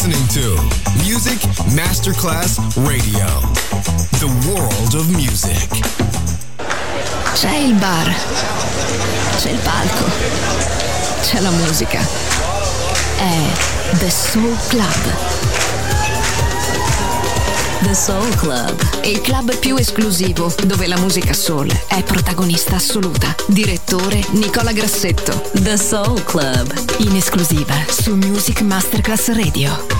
listening to Music Masterclass Radio. The world of music. C'è il bar, c'è il palco, c'è la musica. È The Soul Club. The Soul Club, il club più esclusivo dove la musica soul è protagonista assoluta. Direttore Nicola Grassetto. The Soul Club, in esclusiva su Music Masterclass Radio.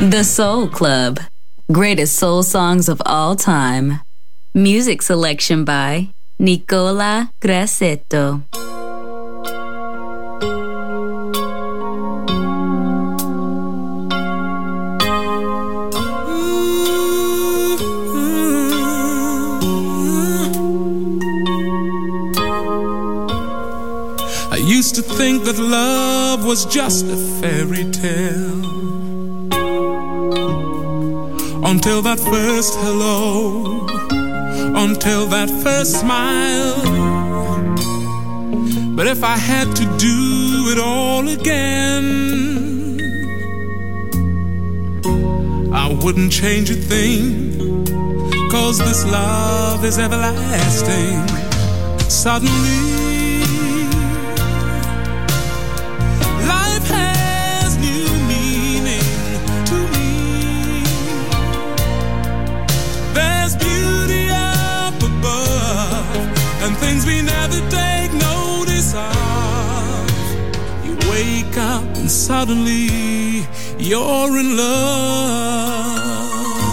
The Soul Club. Greatest soul songs of all time. Music selection by Nicola Grassetto. I used to think that love was just a fairy tale, until that first hello, until that first smile. But if I had to do it all again, I wouldn't change a thing, 'cause this love is everlasting. Suddenly things we never take notice of. You wake up and suddenly you're in love.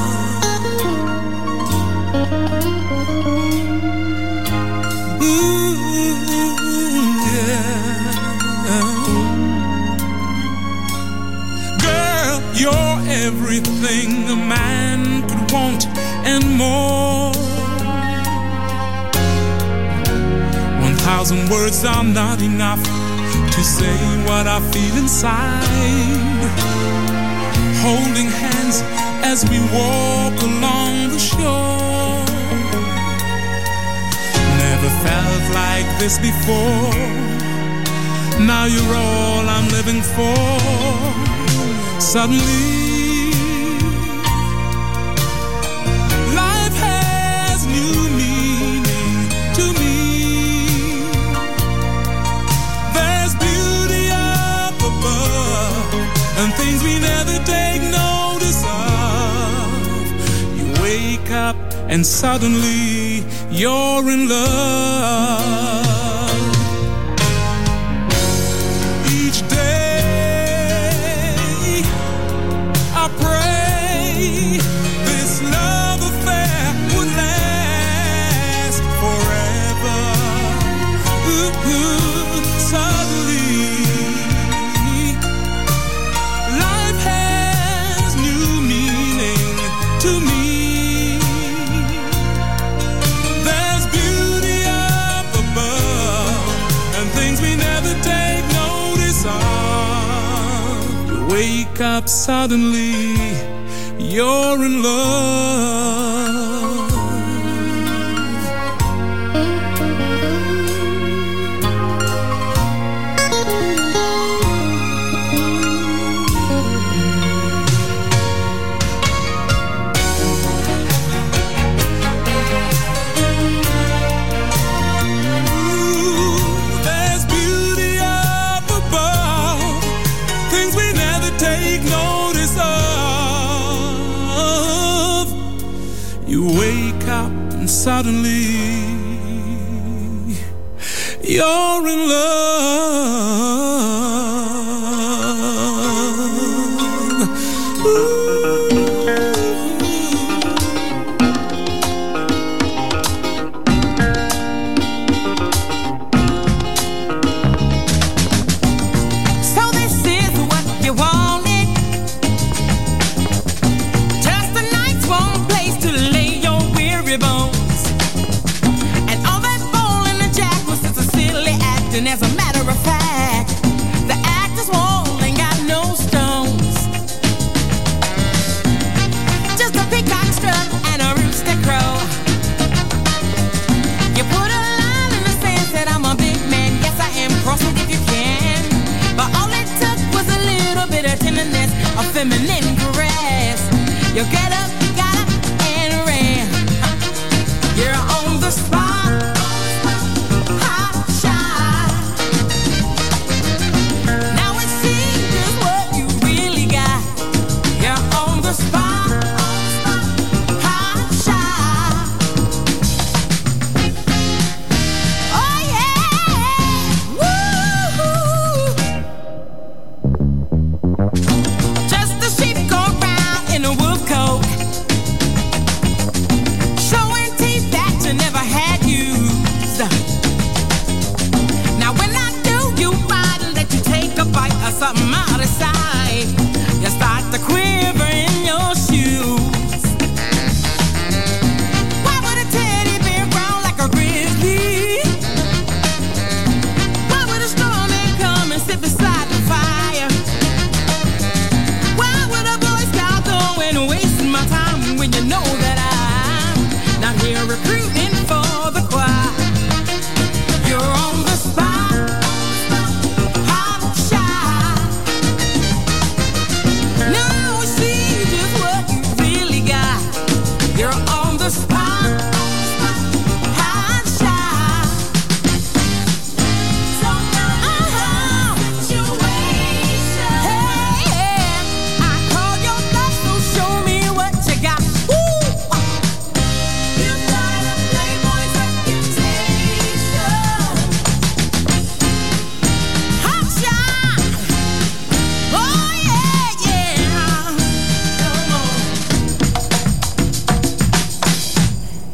Ooh, yeah. Girl, you're everything a man could want and more. 1,000 words are not enough to say what I feel inside. Holding hands as we walk along the shore. Never felt like this before. Now you're all I'm living for. Suddenly life has new meaning to me. And things we never take notice of. You wake up and suddenly you're in love. Each day I pray this love affair would last forever. Ooh, suddenly to me. There's beauty up above and things we never take notice of. You wake up suddenly, you're in love. Suddenly, you're in love. Ooh. So this is what you wanted. Just a nice warm place to lay your weary bones. And as a matter of fact, the actor's wall ain't got no stones. Just a peacock strut and a rooster crow. You put a line in the sand, said I'm a big man. Yes, I am, cross it if you can. But all it took was a little bit of tenderness, a feminine caress. You get up, got up, and ran. You're on the spot. Just a sheep go round.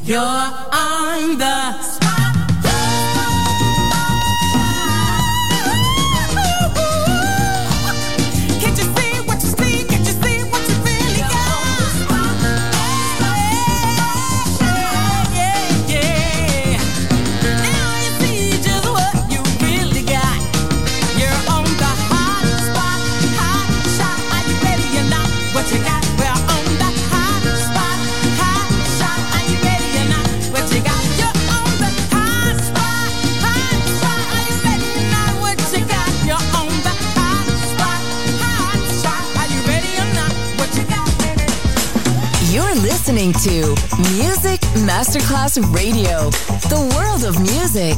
You're on the spot. Can't you see what you see? Can't you see what you really got? Yeah, yeah. Now you see just what you really got. You're on the hot spot, hot shot. Are you ready or not? What you got? We're on the hot spot, hot shot. Are you ready or not? What you got? You're on the hot spot, hot shot. Are you ready or not? What you got? You're on the hot spot, hot shot. Are you ready or not? What you got? You're listening to Music Masterclass Radio, the world of music.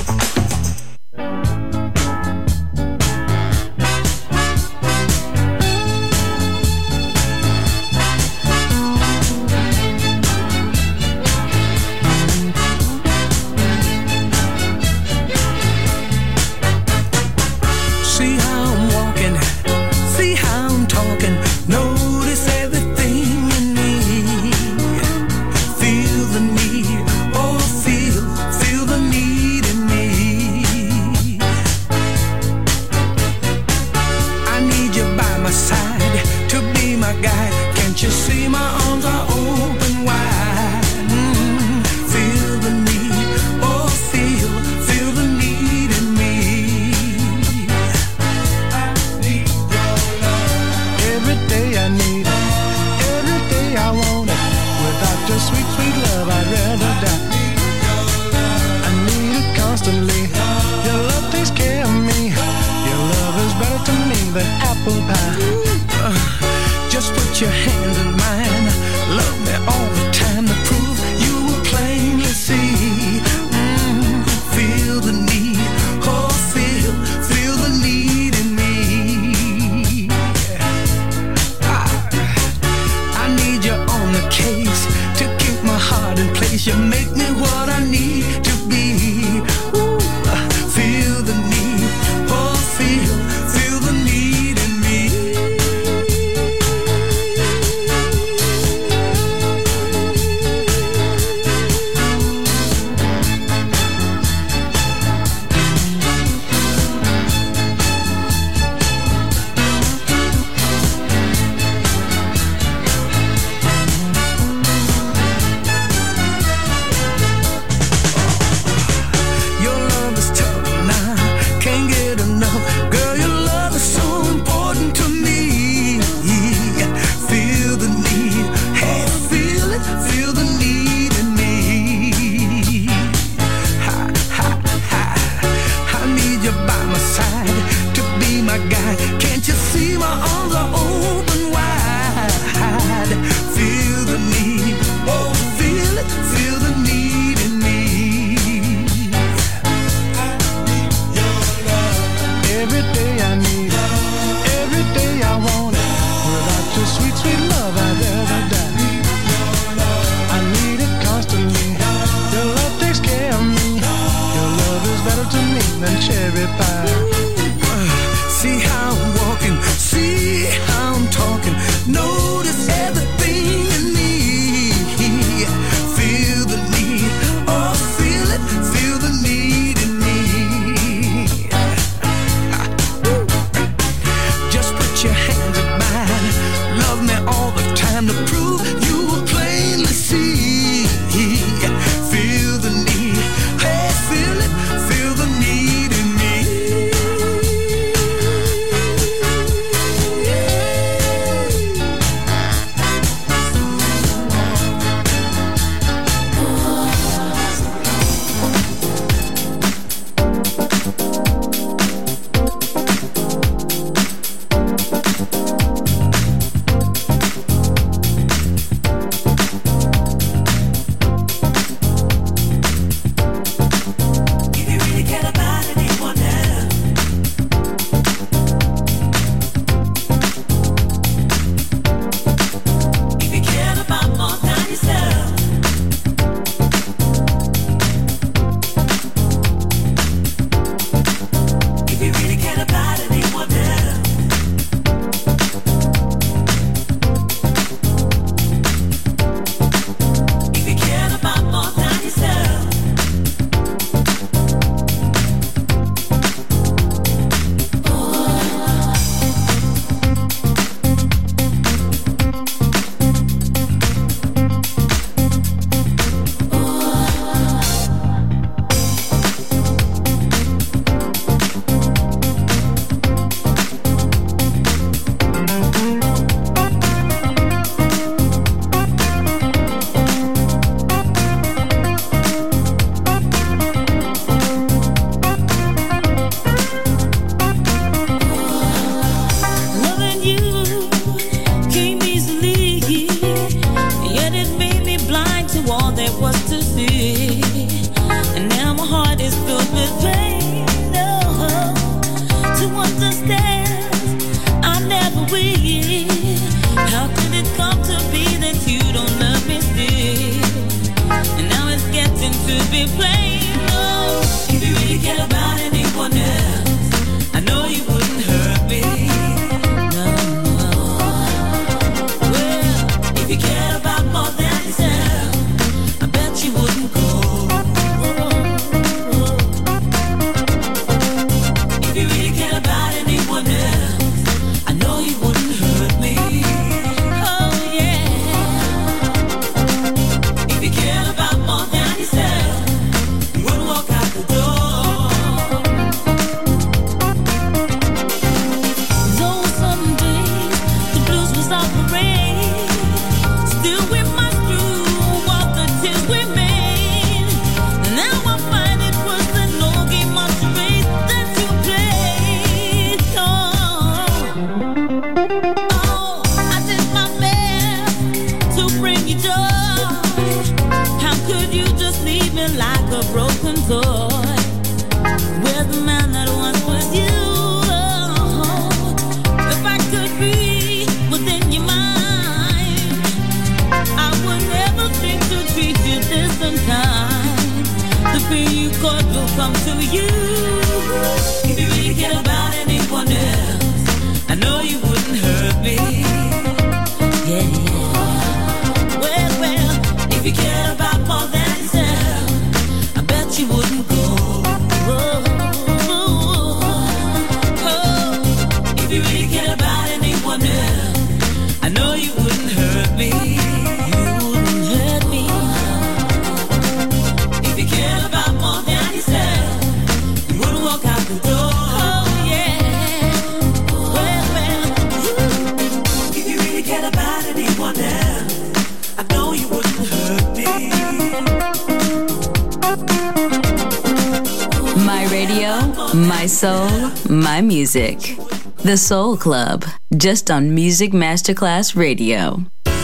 See how I'm walking, see how I'm talking. Notice everything in me. Feel the need, oh feel the need in me. I need you by my side to be my guide. Can't you see my arms are open wide? Feel the need, oh feel the need in me. Every day I need it, every day I want it. Without your sweet, sweet love, I'd rather die. I need it constantly. Your love takes care of me. Your love is better to me than apple pie. Just put your hands in mine. Love me all the time to prove you will plainly see. Feel the need, oh feel the need in me. I need you on the case to keep my heart in place. You make me what I need to be. Ooh, feel the need, oh feel the need in me. Your love is tough now, can't get enough. Girl, your love is so important to me. Feel the need, hey, feel it, feel the need in me. Ha, ha, ha. I need you by my side to be my guide. Can't you see my arms are open wide? Feel the need, oh, feel it, feel the need in me. Every day I need it, every day I want it. Without your sweet, sweet love, I'd rather die. I need it constantly. Your love takes care of me. Your love is better to me than cherry pie. See how I'm walking, see how I'm talking. Notice everything in me. Feel the need, oh feel it, feel the need in me. Just put your hands in mine. Love me all the time to prove you will plainly see. Feel the need, hey, feel it, feel the need in me. me. Yeah. Well, if you cared about more than yourself, I bet you wouldn't go. If you really cared about anyone else, I know you wouldn't hurt me. You wouldn't hurt me. If you cared about more than yourself, you wouldn't walk out the door. Oh yeah. Well, if you really cared about anyone else, I know you wouldn't hurt me. My radio, my soul, my music. The Soul Club, just on Music Masterclass Radio.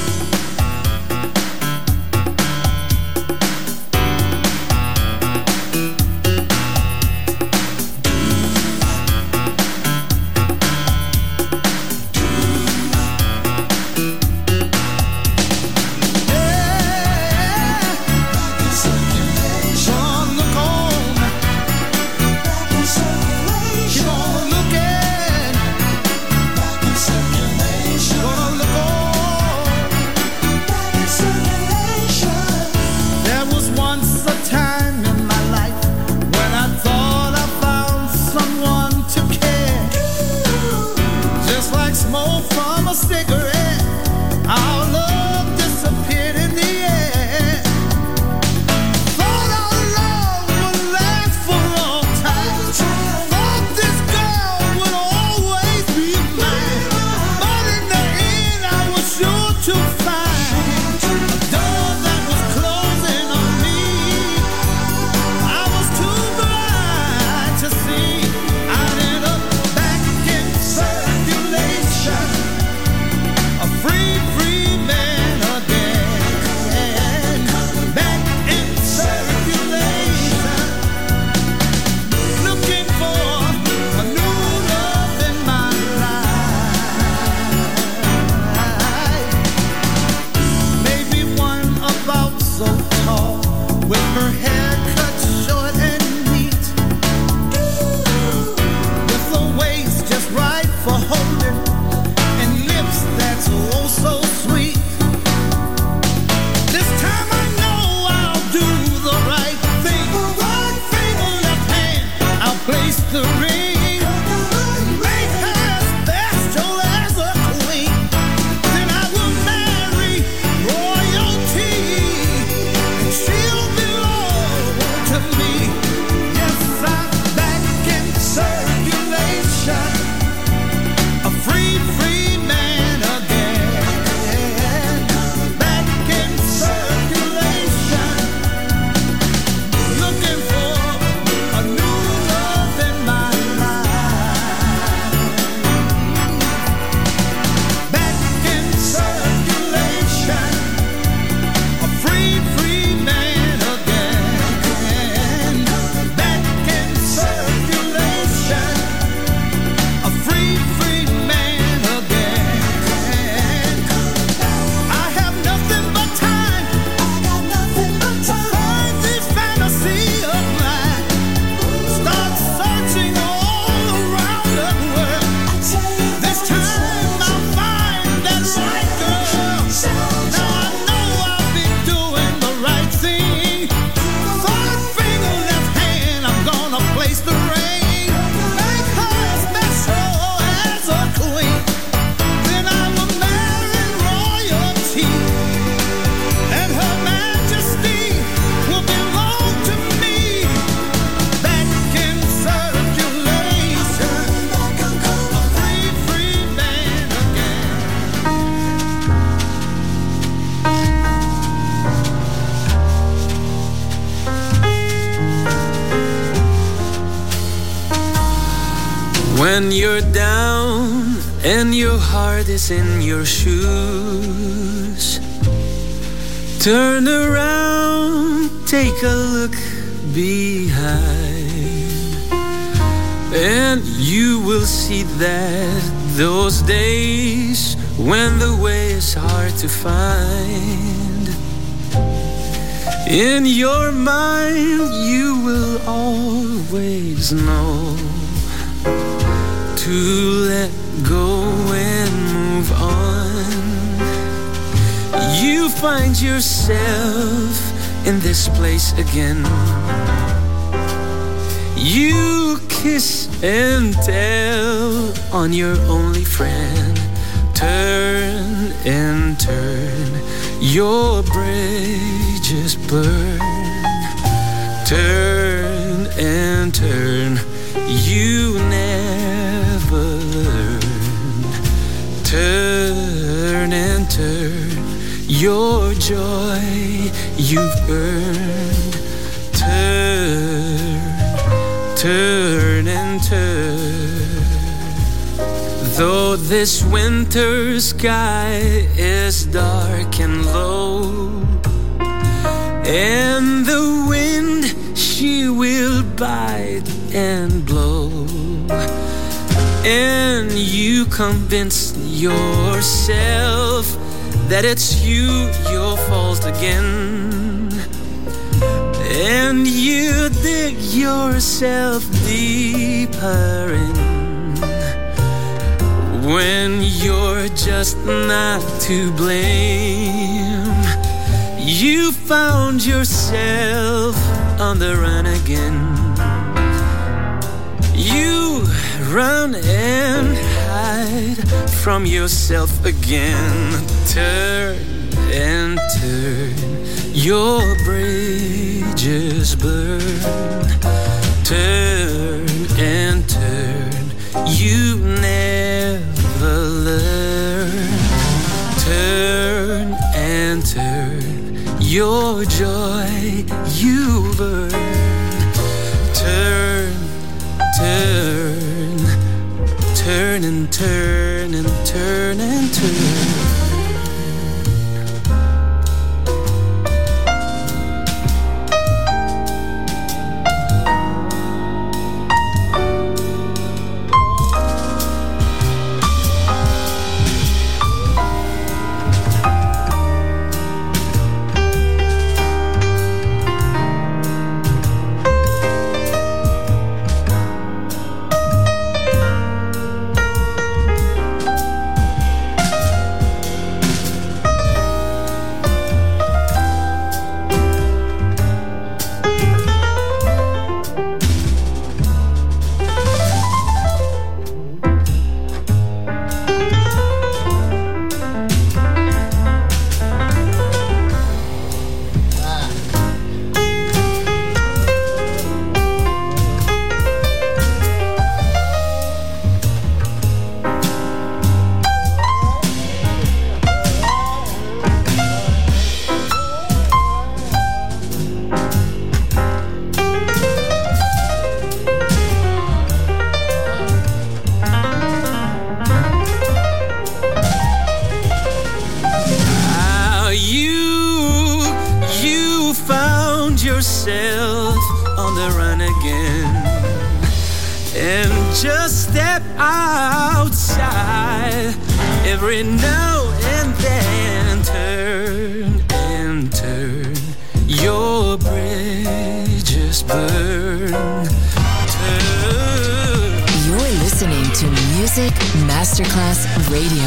When you're down and your heart is in your shoes, turn around, take a look behind, and you will see that those days when the way is hard to find, in your mind you will always know to let go and move find yourself in this place again. You kiss and tell on your only friend. Turn and turn, your bridges burn. Turn and turn, you never learn. Turn and turn, your joy you've earned. Turn and turn. Though this winter sky is dark and low, and the wind she will bite and blow, and you convince yourself that it's your fault again, and you dig yourself deeper in, when you're just not to blame. You found yourself on the run again. You run and hide from yourself again. Turn and turn, your bridges burn. Turn and turn, you never learn. Turn and turn, your joy you burn. Turn, turn, turn and turn and turn and turn. Masterclass Radio.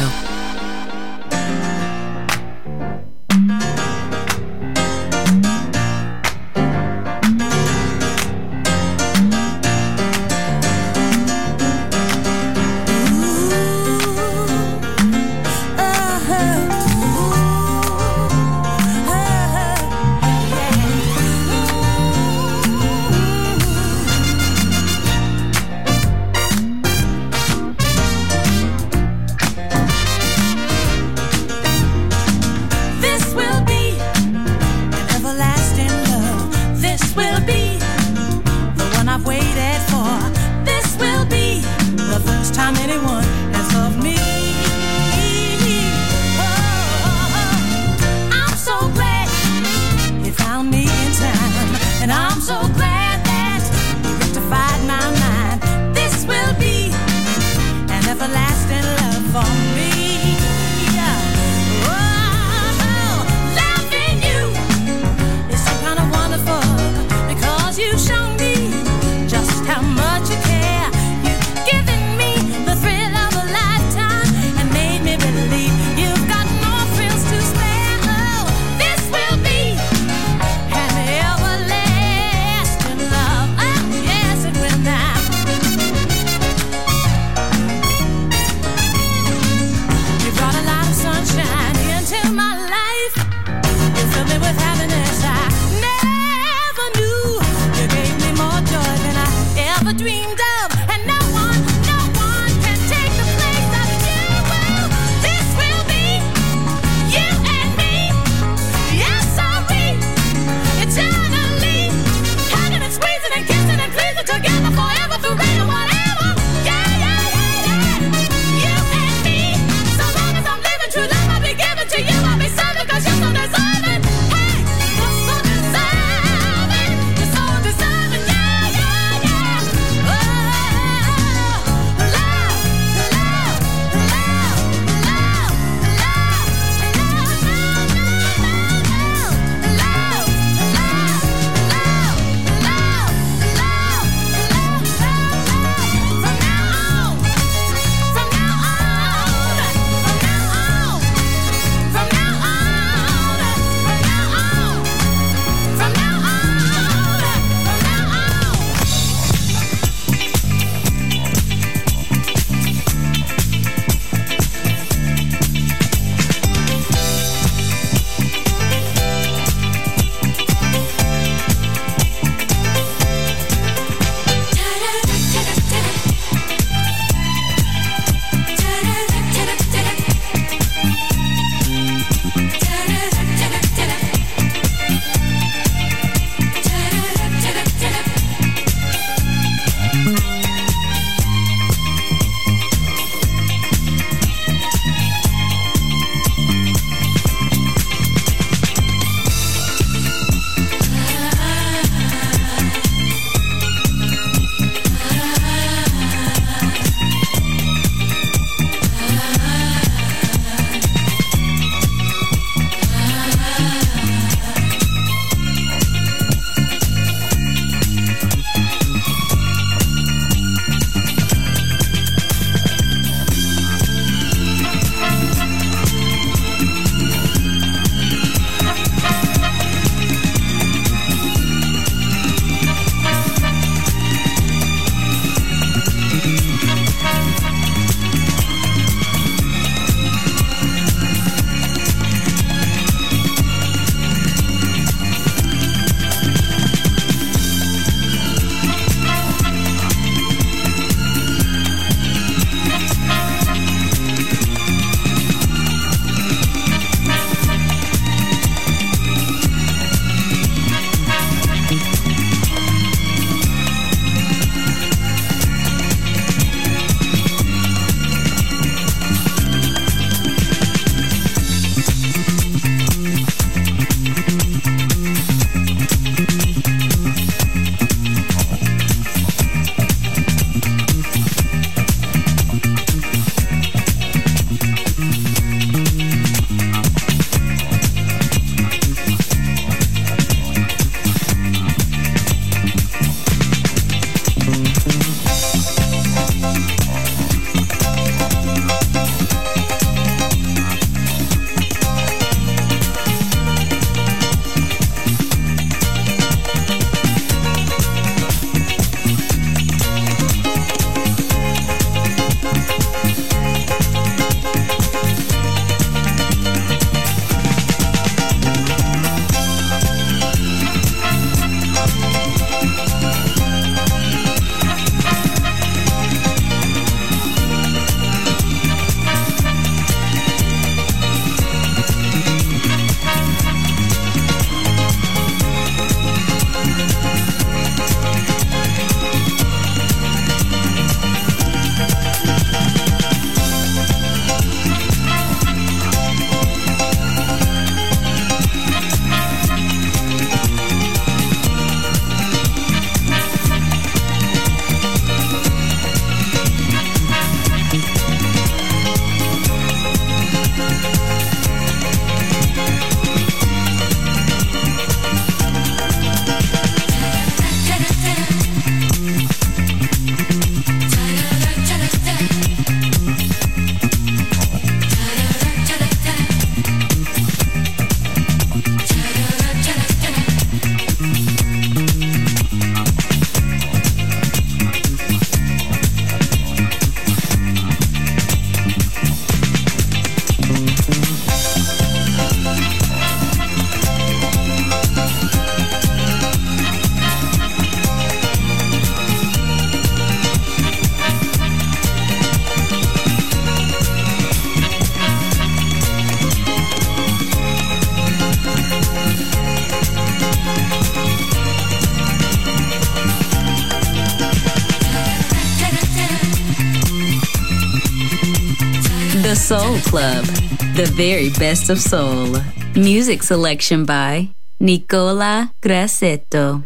Soul Club, the very best of soul. Music selection by Nicola Grassetto.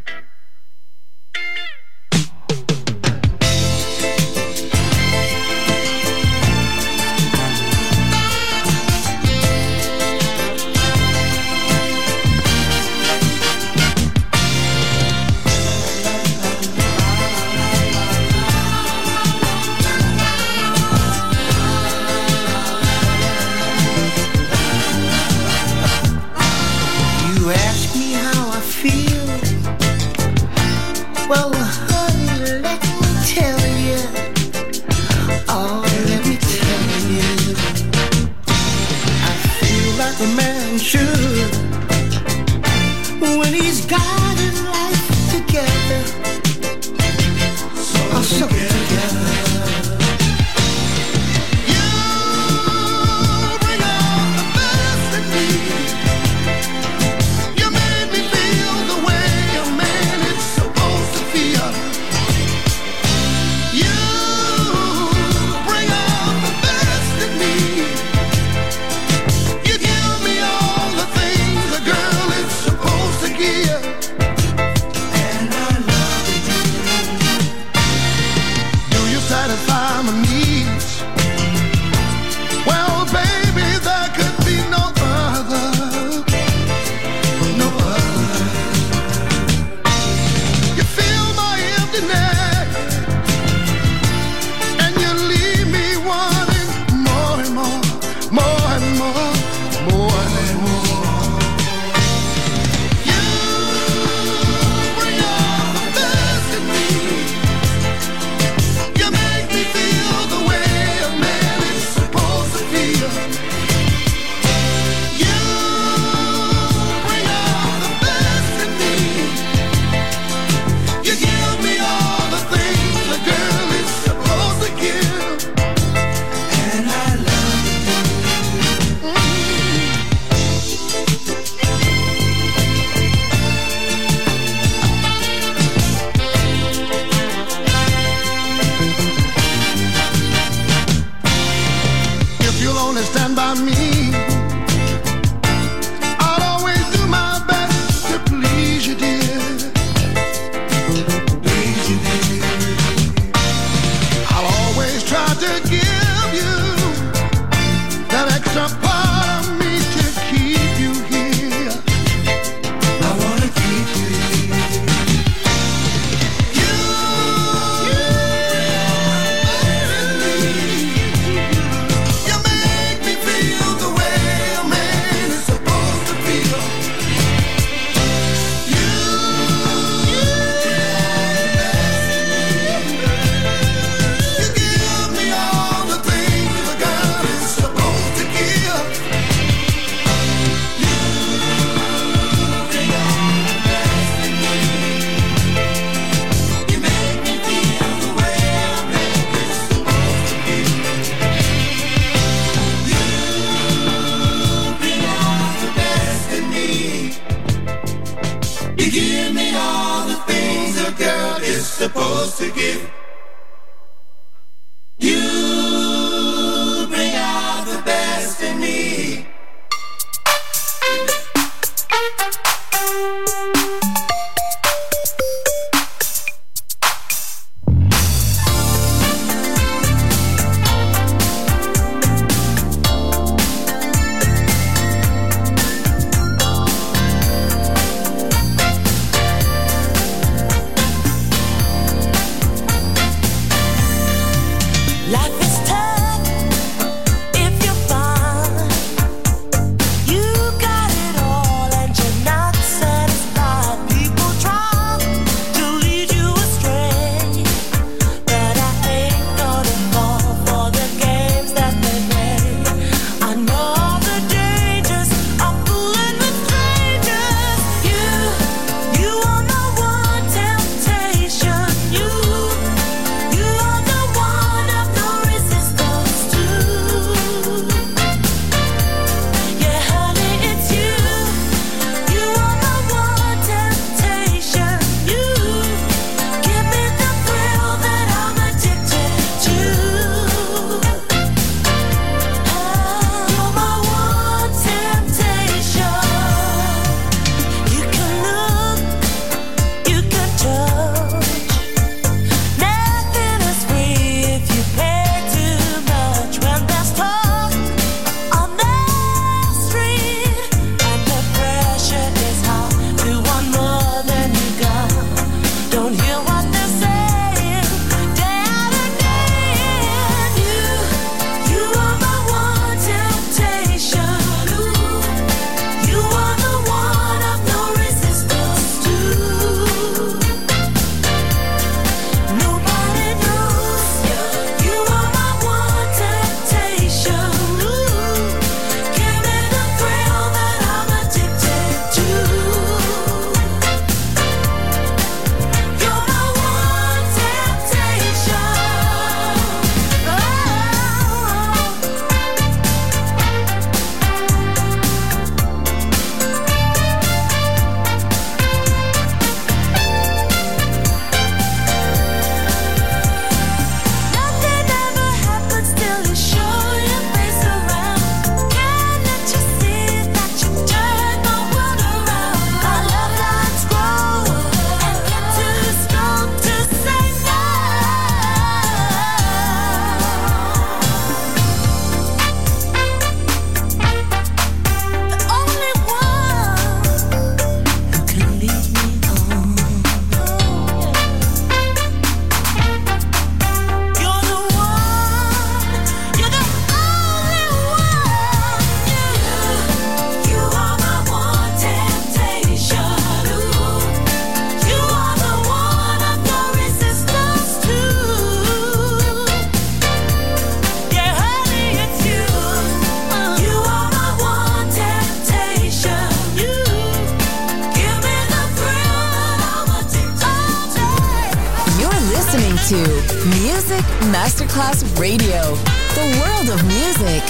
Music Masterclass Radio. The world of music.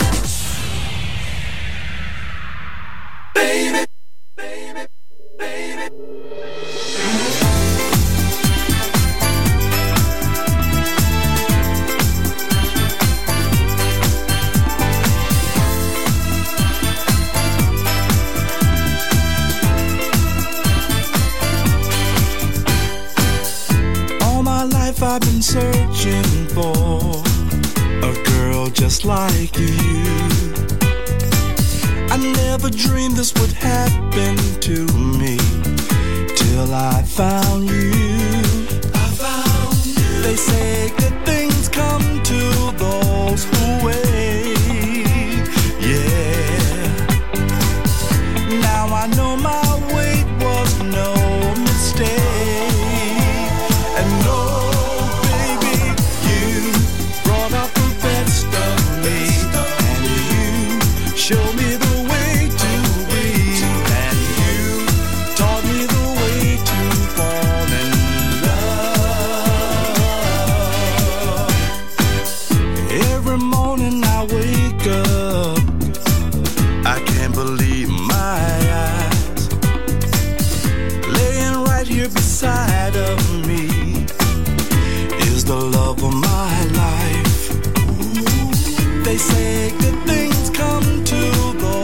Baby, baby, baby. I've been searching for a girl just like you. I never dreamed this would happen to me till I found you. They say good things come to those who wait. Yeah. Now I know my wait was no mistake. And no, show me the way to be, and you taught me the way to fall in love. Every morning I wake up, I can't believe my eyes. Laying right here beside of me is the love of my life. They say good things come to those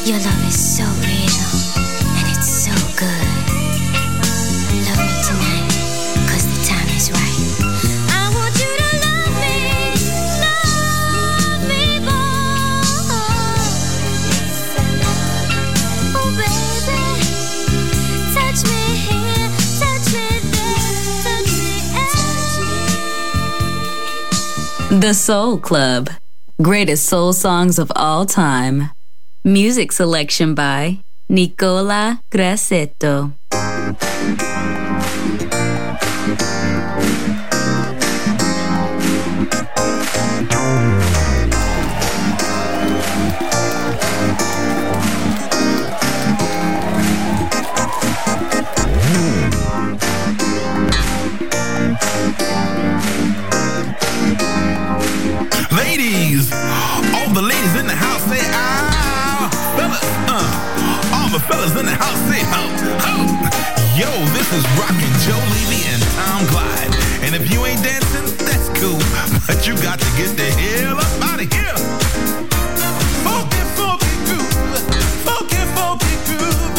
Your love is so real, and it's so good. Love me tonight, 'cause the time is right. I want you to love me more. Oh baby, touch me here, touch me there, touch me. The Soul Club. Greatest soul songs of all time. Music selection by Nicola Grassetto. Ladies, all the ladies in the house say ah, fellas, all the fellas in the house say ho, ho. Yo, this is Rockin' Joe Levy and Tom Glide, and if you ain't dancing, that's cool, but you got to get the hell up out of here. Funky, funky groove, funky, funky groove.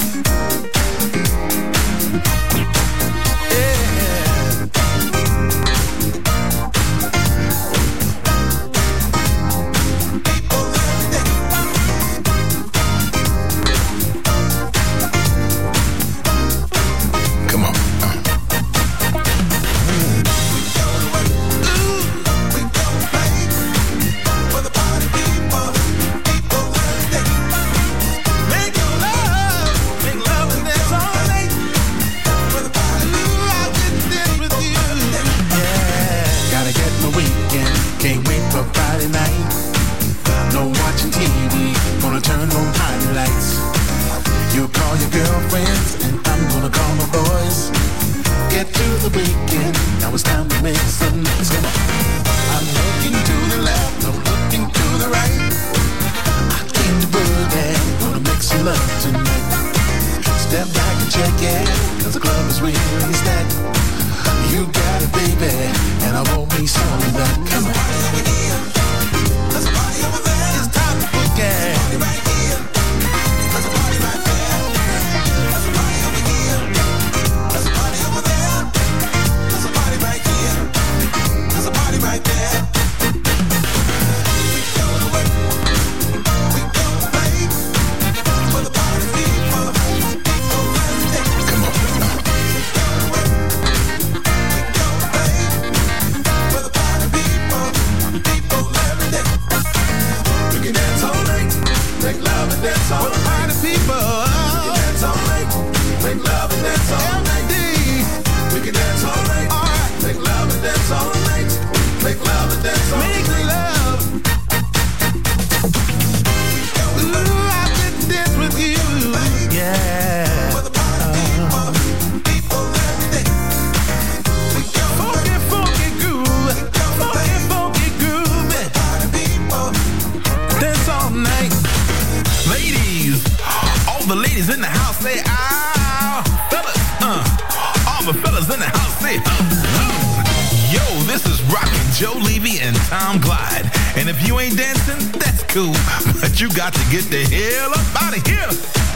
Get the hell up out of here.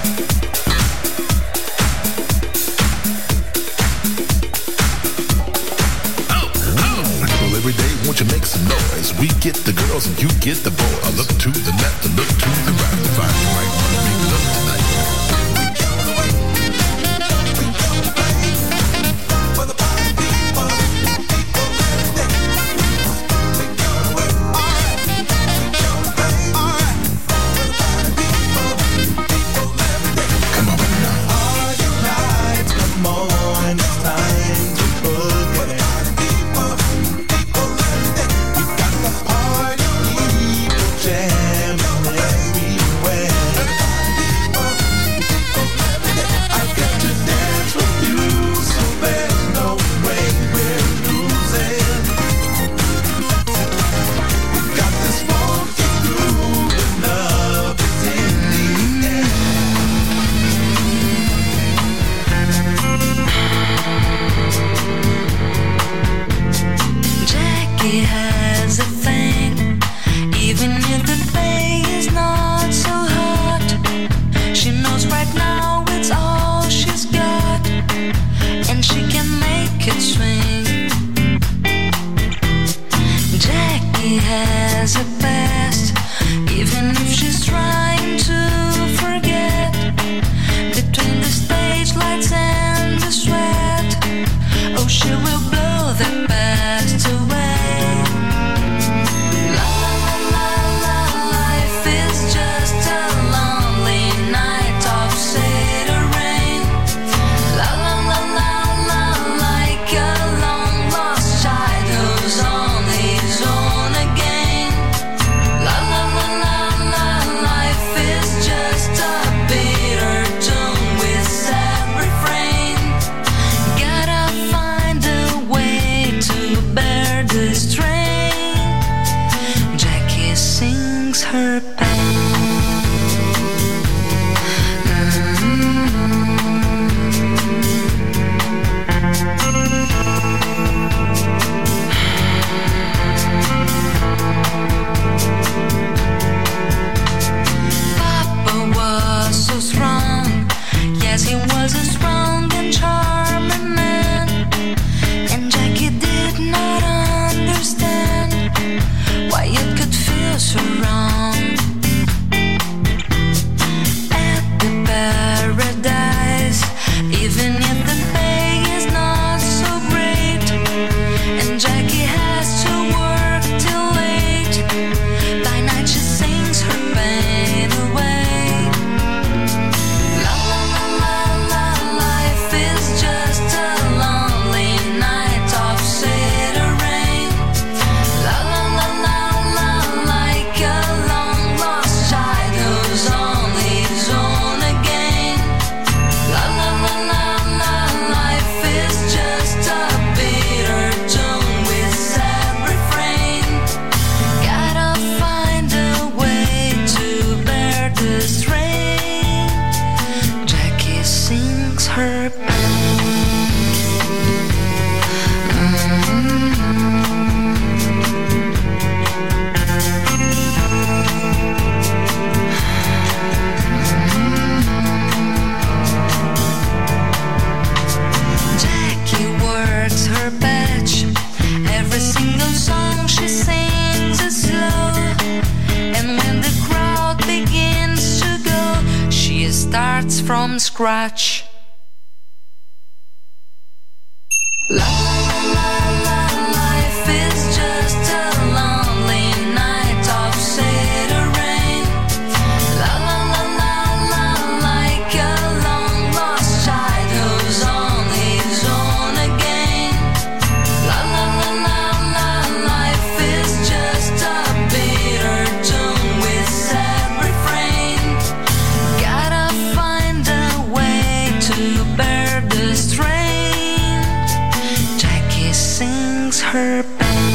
Well, every day, won't you make some noise? We get the girls and you get the boys. I look to the left and look to the right to find the right one to make love tonight. Jam starts from scratch. La la la la, life is just a lonely night of city rain. La la la la la, like a long lost child who's on his own again. La la la la la, life is just a bitter tune with sad refrain. Gotta find a way to bear the strain. Sings her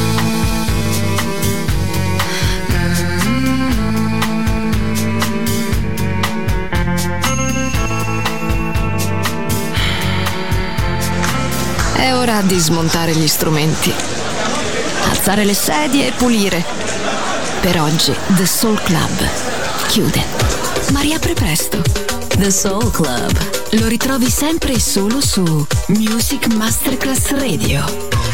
È ora di smontare gli strumenti, alzare le sedie e pulire. Per oggi The Soul Club chiude, ma riapre presto. The Soul Club lo ritrovi sempre e solo su Music Masterclass Radio.